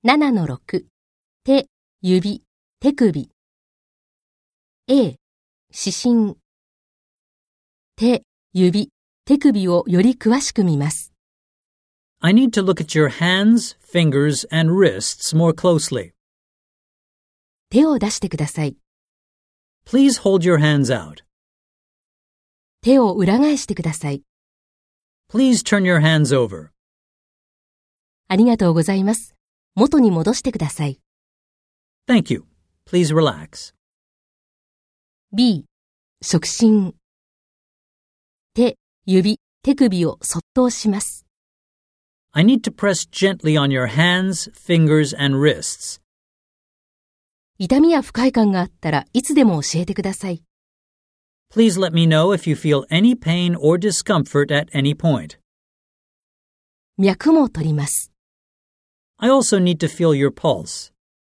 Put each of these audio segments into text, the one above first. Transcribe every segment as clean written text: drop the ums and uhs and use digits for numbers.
7-6 手、指、手首 A、指針手、指、手首をより詳しく見ます。 I need to look at your hands, fingers, and wrists more closely. 手を出してください。 Please hold your hands out. 手を裏返してください。 Please turn your hands over. ありがとうございます。元に戻してください。 Thank you. Please relax. B、触診手、指、手首をそっと押します。 I need to press gently on your hands, fingers, and wrists. 痛みや不快感があったらいつでも教えてください。 Please let me know if you feel any pain or discomfort at any point. 脈も取ります。 I also need to feel your pulse.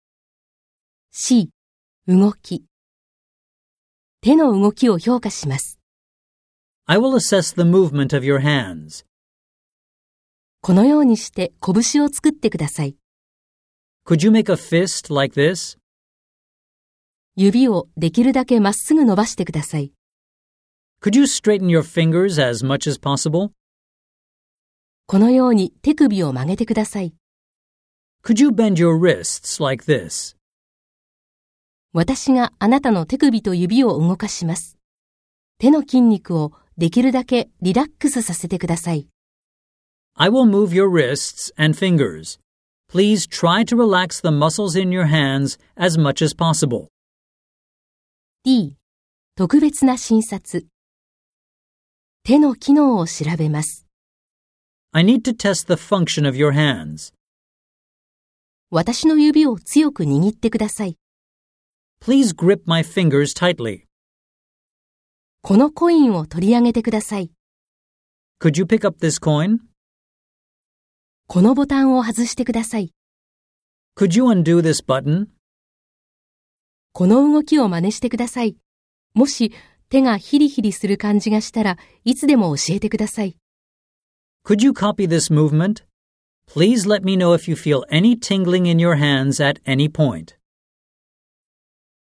C、動き手の動きを評価します。 I will assess the movement of your hands. このようにして拳を作ってください。 Could you make a fist like this? 指をできるだけまっすぐ伸ばしてください。 Could you straighten your fingers as much as possible? このように手首を曲げてください。 Could you bend your wrists like this? 私があなたの手首と指を動かします。手の筋肉をできるだけリラックスさせてください。 I will move your wrists and fingers. Please try to relax the muscles in your hands as much as possible. D、特別な診察手の機能を調べます。 I need to test the function of your hands. 私の指を強く握ってください。 Please grip my fingers tightly. このコインを取り上げてください。 Could you pick up this coin? このボタンを外してください。 Could you undo this button? この動きを真似してください。もし手がヒリヒリする感じがしたらいつでも教えてください。 Could you copy this movement? Please let me know if you feel any tingling in your hands at any point.